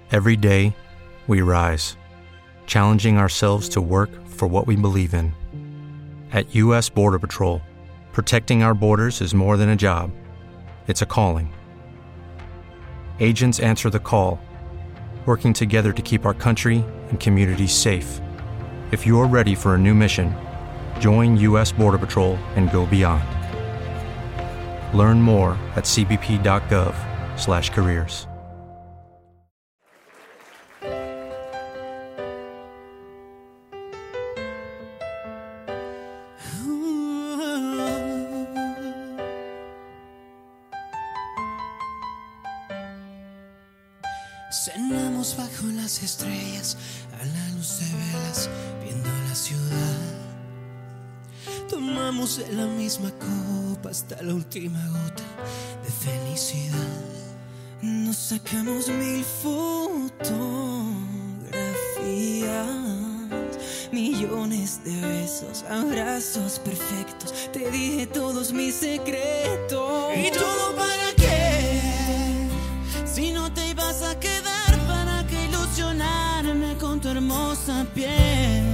Every day, we rise, challenging ourselves to work for what we believe in. At U.S. Border Patrol, protecting our borders is more than a job. It's a calling. Agents answer the call, working together to keep our country and communities safe. If you're ready for a new mission, join U.S. Border Patrol and go beyond. Learn more at cbp.gov/careers. Cenamos bajo las estrellas, a la luz de velas, viendo la ciudad. Tomamos de la misma copa hasta la última gota de felicidad. Nos sacamos 1000 fotografías, millones de besos, abrazos perfectos. Te dije todos mis secretos. ¿Y todo para qué? Si no te ibas a quedar, ¿para qué ilusionarme con tu hermosa piel?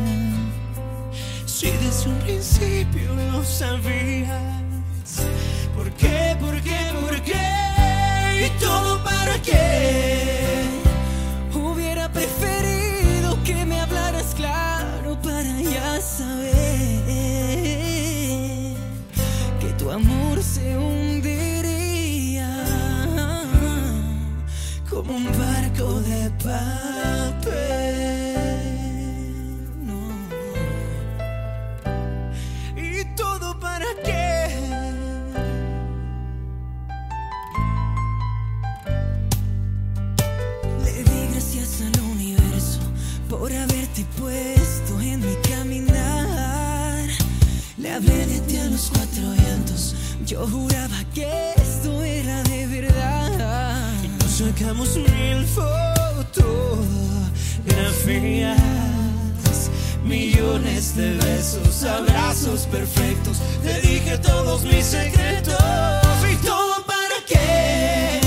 Si desde un principio lo sabías. ¿Por qué? ¿Por qué? ¿Por qué? ¿Y todo para qué? Hubiera preferido que me hablaras claro para ya saber que tu amor se hundiría como un barco de papel. Por haberte puesto en mi caminar. Le hablé de ti a los 4 vientos. Yo juraba que esto era de verdad. Y nos sacamos 1000 fotografías, millones de besos, abrazos perfectos. Te dije todos mis secretos. ¿Y todo para qué?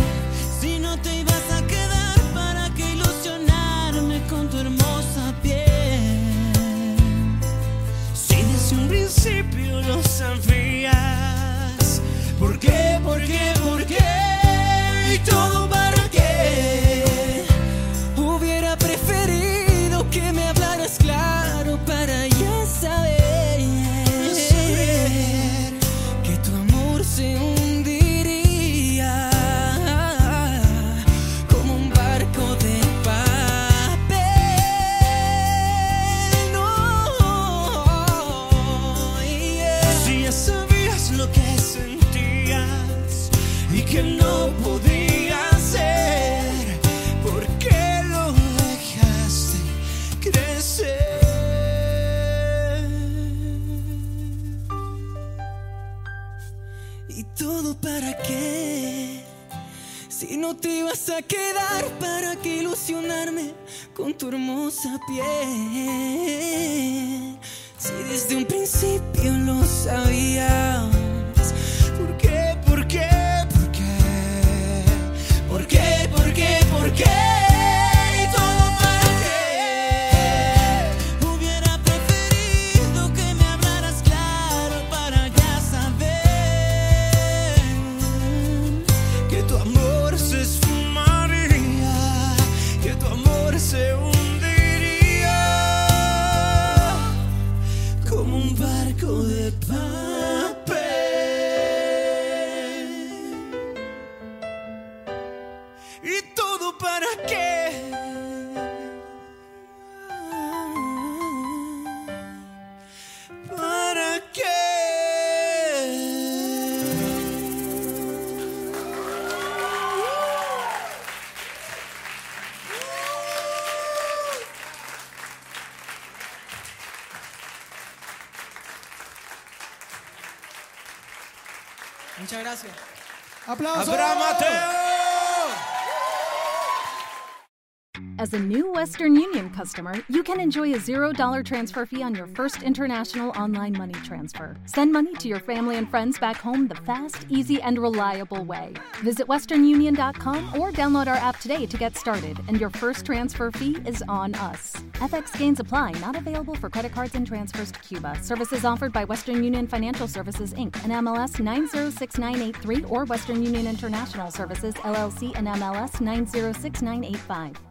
Con tu hermosa piel. Si desde un principio lo sabías. ¿Por qué? ¿Por qué? ¿Por qué? ¿Y todo para qué? Hubiera preferido que me hablaras claro para ya saber que tu amor se hundiría como un barco de que no podía ser. ¿Por qué lo dejaste crecer? ¿Y todo para qué? Si no te ibas a quedar, ¿para qué ilusionarme con tu hermosa piel? Si desde un principio lo sabías. ¿Por qué? ¿Por qué? ¿Por qué? ¿Por qué? ¿Por qué? ¿Y todo para qué? Hubiera preferido que me hablaras claro para ya saber que tu amor se esfumaría, que tu amor se hundiría como un barco de papel. ¿Y todo para qué? ¿Para qué? Muchas gracias. ¡Aplausos! ¡Abraham Mateo! As a new Western Union customer, you can enjoy a $0 transfer fee on your first international online money transfer. Send money to your family and friends back home the fast, easy, and reliable way. Visit westernunion.com or download our app today to get started, and your first transfer fee is on us. FX gains apply, not available for credit cards and transfers to Cuba. Services offered by Western Union Financial Services, Inc., and MLS 906983, or Western Union International Services, LLC, and MLS 906985.